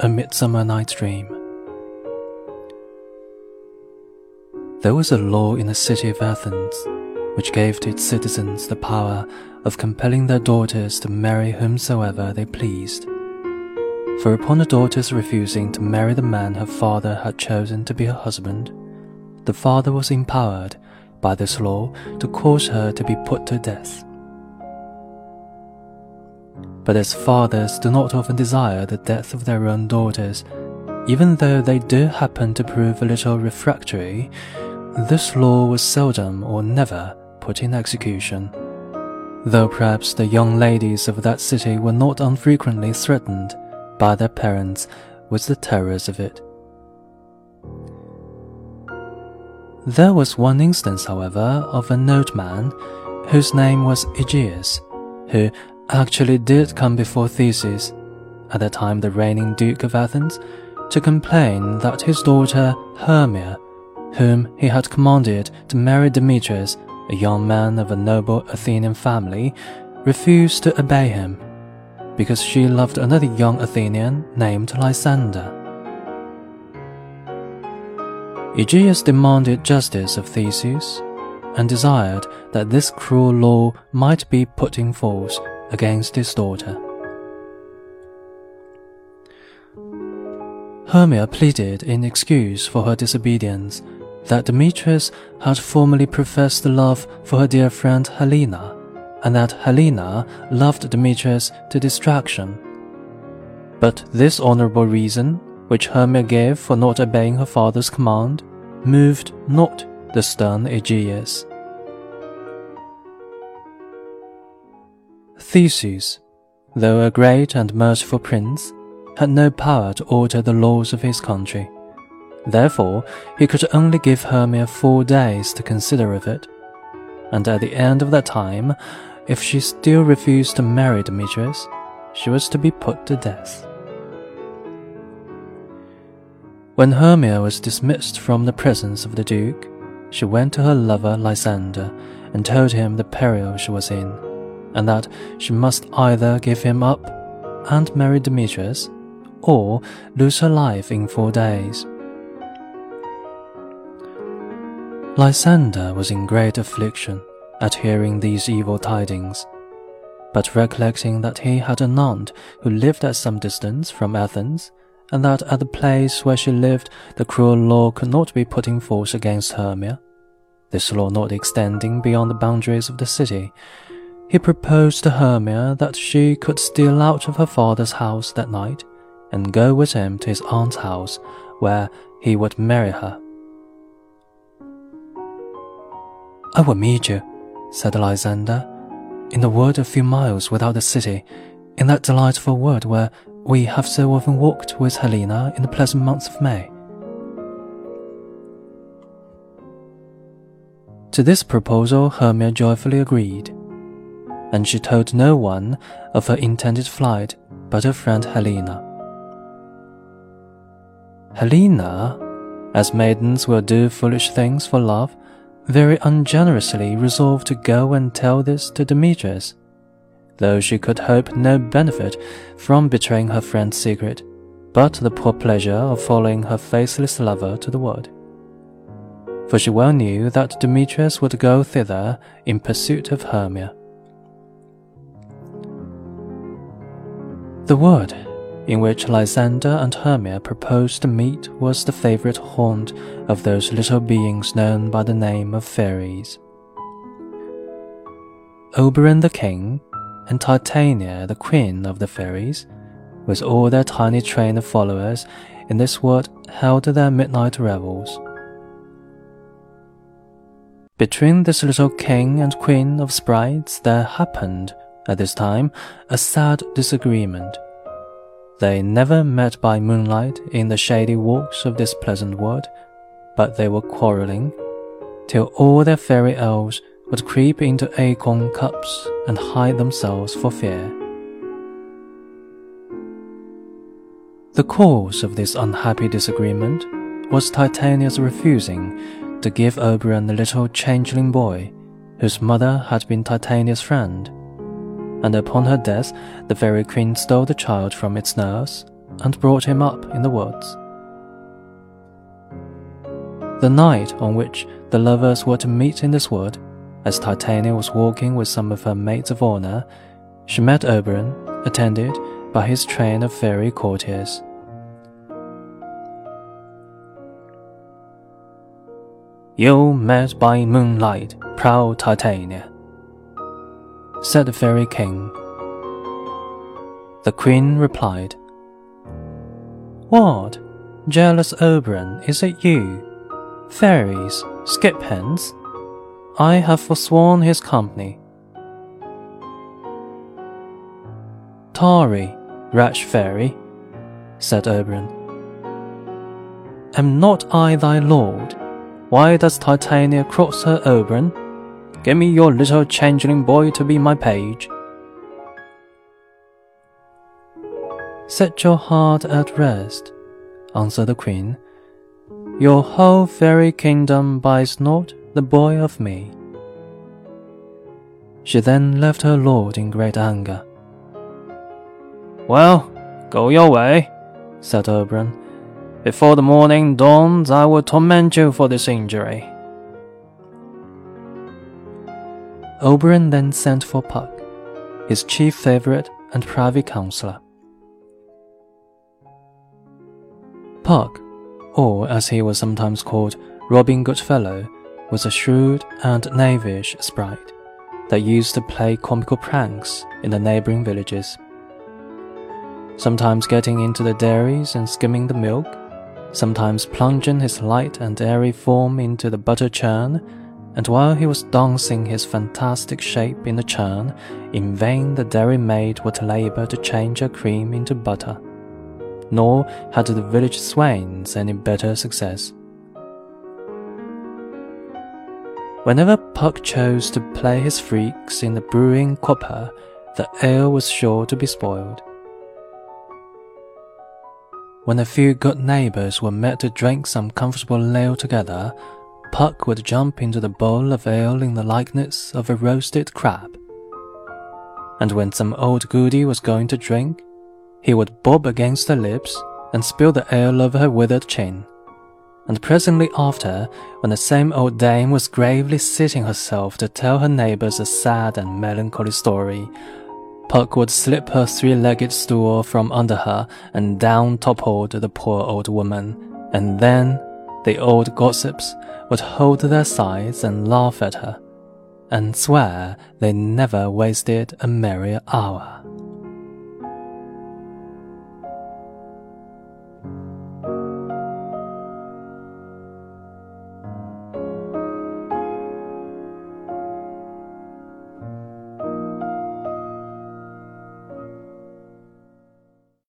Midsummer Night's Dream. There was a law in the city of Athens which gave to its citizens the power of compelling their daughters to marry whomsoever they pleased. For upon a daughter's refusing to marry the man her father had chosen to be her husband, the father was empowered by this law to cause her to be put to death. But as fathers do not often desire the death of their own daughters, even though they do happen to prove a little refractory, this law was seldom or never put in execution, though perhaps the young ladies of that city were not unfrequently threatened by their parents with the terrors of it. There was one instance, however, of a nobleman whose name was Aegeus, who actually did come before Theseus, at the time the reigning Duke of Athens, to complain that his daughter Hermia, whom he had commanded to marry Demetrius, a young man of a noble Athenian family, refused to obey him, because she loved another young Athenian named Lysander. Aegeus demanded justice of Theseus, and desired that this cruel law might be put in force against his daughter. Hermia pleaded in excuse for her disobedience that Demetrius had formerly professed love for her dear friend Helena, and that Helena loved Demetrius to distraction. But this honorable reason, which Hermia gave for not obeying her father's command, moved not the stern Aegeus. Theseus, though a great and merciful prince, had no power to alter the laws of his country. Therefore, he could only give Hermia 4 days to consider of it, and at the end of that time, if she still refused to marry Demetrius, she was to be put to death. When Hermia was dismissed from the presence of the Duke, she went to her lover Lysander and told him the peril she was in, and that she must either give him up and marry Demetrius, or lose her life in 4 days. Lysander was in great affliction at hearing these evil tidings, but recollecting that he had an aunt who lived at some distance from Athens, and that at the place where she lived the cruel law could not be put in force against Hermia, this law not extending beyond the boundaries of the city, he proposed to Hermia that she could steal out of her father's house that night and go with him to his aunt's house, where he would marry her. "I will meet you," said Lysander, "in a wood a few miles without the city, in that delightful wood where we have so often walked with Helena in the pleasant month of May." To this proposal Hermia joyfully agreed, and she told no one of her intended flight but her friend Helena. Helena, as maidens will do foolish things for love, very ungenerously resolved to go and tell this to Demetrius, though she could hope no benefit from betraying her friend's secret, but the poor pleasure of following her faithless lover to the wood. For she well knew that Demetrius would go thither in pursuit of Hermia. The wood in which Lysander and Hermia proposed to meet was the favourite haunt of those little beings known by the name of fairies. Oberon the king, and Titania the queen of the fairies, with all their tiny train of followers, in this wood held their midnight revels. Between this little king and queen of sprites there happened, at this time, a sad disagreement. They never met by moonlight in the shady walks of this pleasant wood, but they were quarrelling, till all their fairy elves would creep into acorn cups and hide themselves for fear. The cause of this unhappy disagreement was Titania's refusing to give Oberon the little changeling boy, whose mother had been Titania's friend, and upon her death the fairy queen stole the child from its nurse and brought him up in the woods. The night on which the lovers were to meet in this wood, as Titania was walking with some of her maids of honor, she met Oberon, attended by his train of fairy courtiers. "You met by moonlight, proud Titania," said the fairy king. The queen replied, "What, jealous Oberon, is it you? Fairies, skip hence. I have forsworn his company." "Tarry, rash fairy," said Oberon. "Am not I thy lord? Why does Titania cross her Oberon? Give me your little changeling boy to be my page." "Set your heart at rest," answered the queen. "Your whole fairy kingdom buys not the boy of me." She then left her lord in great anger. "Well, go your way," said Oberon. "Before the morning dawns, I will torment you for this injury." Oberon then sent for Puck, his chief favorite and privy counsellor. Puck, or as he was sometimes called, Robin Goodfellow, was a shrewd and knavish sprite that used to play comical pranks in the neighbouring villages, sometimes getting into the dairies and skimming the milk, sometimes plunging his light and airy form into the butter churn, and while he was dancing his fantastic shape in the churn, in vain the dairymaid would labour to change her cream into butter, nor had the village swains any better success. Whenever Puck chose to play his freaks in the brewing copper, the ale was sure to be spoiled. When a few good neighbours were met to drink some comfortable ale together, Puck would jump into the bowl of ale in the likeness of a roasted crab. And when some old goody was going to drink, he would bob against her lips and spill the ale over her withered chin. And presently after, when the same old dame was gravely seating herself to tell her neighbours a sad and melancholy story, Puck would slip her three-legged stool from under her, and down toppled the poor old woman, and then the old gossips would hold their sides and laugh at her, and swear they never wasted a merry hour.